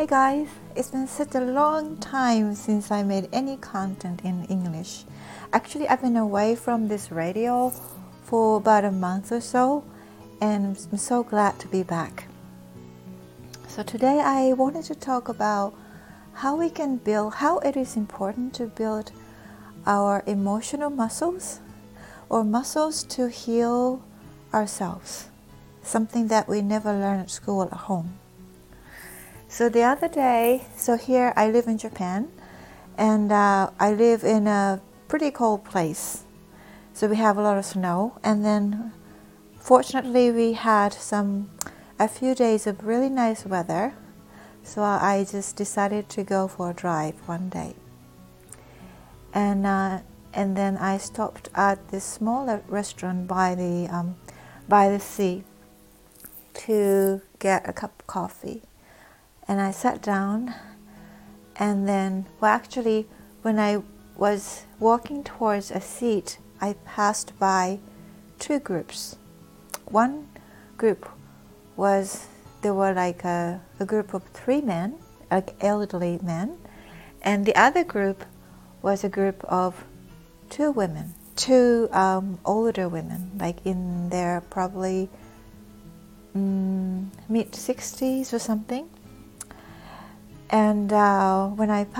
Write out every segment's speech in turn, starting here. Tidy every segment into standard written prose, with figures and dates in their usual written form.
Hi guys, it's been such a long time since I made any content in English. Actually, I've been away from this radio for about a month or so, and I'm so glad to be back. So today I wanted to talk about how it is important to build our emotional muscles or muscles to heal ourselves, something that we never learn at school or at home. So the other day, here I live in Japan, and I live in a pretty cold place. So we have a lot of snow, and then fortunately we had a few days of really nice weather. So I just decided to go for a drive one day, and then I stopped at this small restaurant by the sea to get a cup of coffee. And I sat down, and then, when I was walking towards a seat, I passed by two groups. One group there were like a group of three men, like elderly men, and the other group was a group of two women, two older women, like in their probably mid-60s or something. And I'm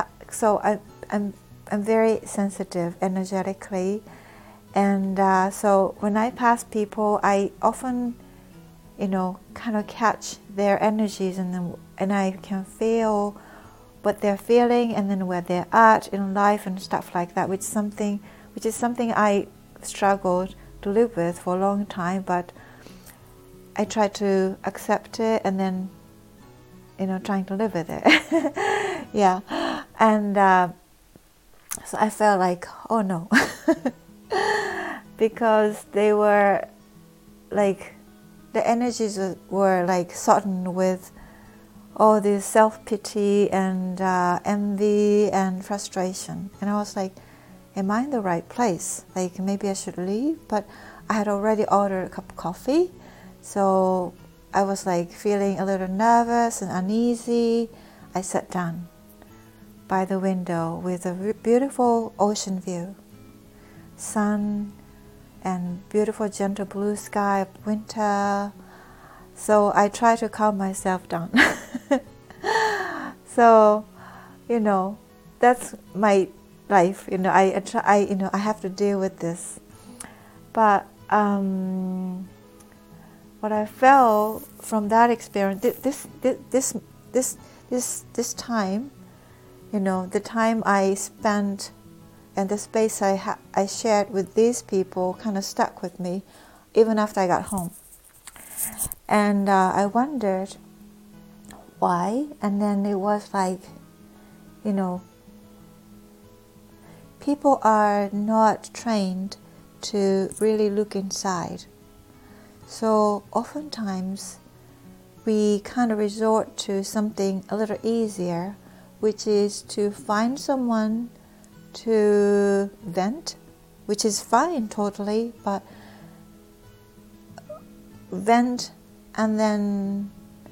very sensitive energetically, and so when I pass people, I often, kind of catch their energies, and I can feel what they're feeling, and then where they're at in life and stuff like that, which is something I struggled to live with for a long time, but I try to accept it, and then trying to live with it. Yeah. And so I felt like, oh no. Because they were like, the energies were like sodden with all this self-pity and envy and frustration. And I was like, am I in the right place? Like, maybe I should leave? But I had already ordered a cup of coffee. So I was like feeling a little nervous and uneasy. I sat down by the window with a beautiful ocean view, sun and beautiful gentle blue sky of winter. So I try to calm myself down. So, that's my life. I have to deal with this. But what I felt from that experience, this time, the time I spent and the space I shared with these people kind of stuck with me, even after I got home. And I wondered why, and then it was like, people are not trained to really look inside. So oftentimes we kind of resort to something a little easier, which is to find someone to vent, which is fine totally, but vent and then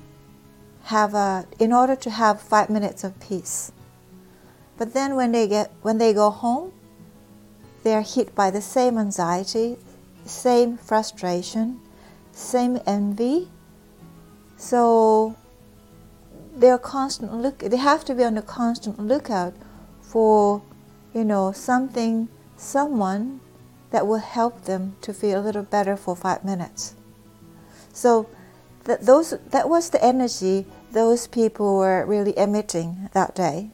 in order to have 5 minutes of peace. But then when they go home, they're hit by the same anxiety, same frustration, same envy. So they have to be on a constant lookout for, someone that will help them to feel a little better for 5 minutes. So that was the energy those people were really emitting that day.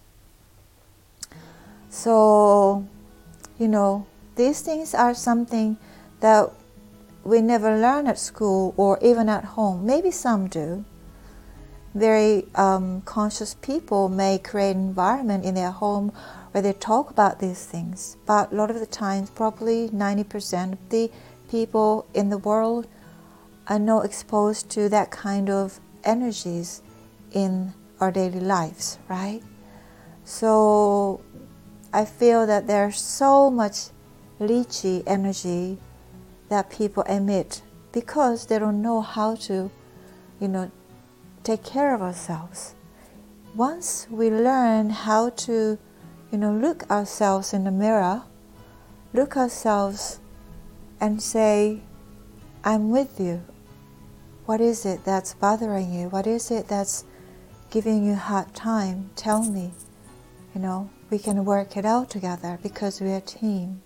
So, these things are something that we never learn at school or even at home. Maybe some do. Very conscious people may create an environment in their home where they talk about these things. But a lot of the times, probably 90% of the people in the world are not exposed to that kind of energies in our daily lives, right? So I feel that there's so much lychee energy that people emit because they don't know how to, take care of ourselves. once we learn how to, look ourselves in the mirror, look ourselves and say, I'm with you. What is it that's bothering you? What is it that's giving you a hard time? Tell me. We can work it out together because we're a team.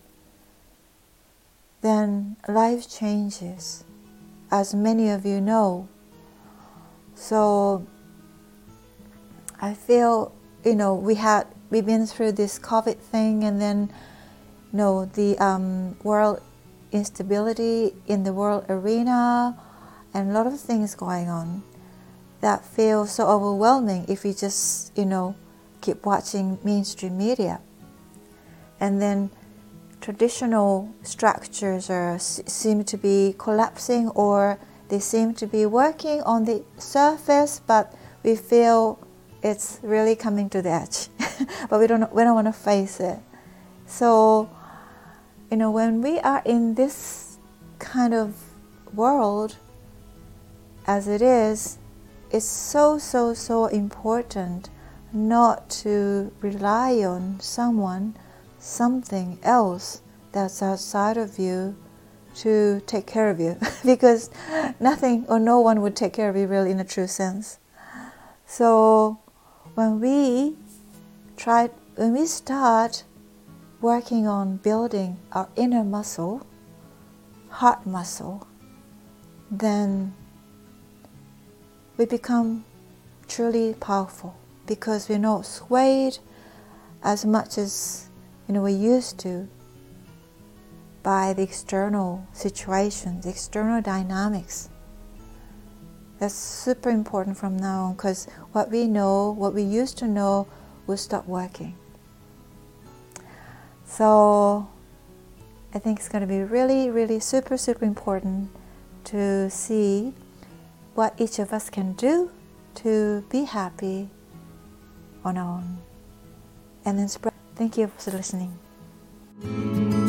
Then life changes, as many of you know. So I feel, we've been through this COVID thing, and then, the world instability in the world arena, and a lot of things going on that feel so overwhelming if we just, keep watching mainstream media. And then traditional structures seem to be collapsing, or they seem to be working on the surface, but we feel it's really coming to the edge. But we don't want to face it. So, when we are in this kind of world as it is, it's so important not to rely on someone, something else that's outside of you to take care of you, because nothing or no one would take care of you really in a true sense. So when we start working on building our inner muscle, heart muscle, then we become truly powerful, because we're not swayed as much as we used to by the external situations, external dynamics. That's super important from now on, because what we know, what we used to know, will stop working. So I think it's going to be really super important to see what each of us can do to be happy on our own, and then spread. Thank you for listening.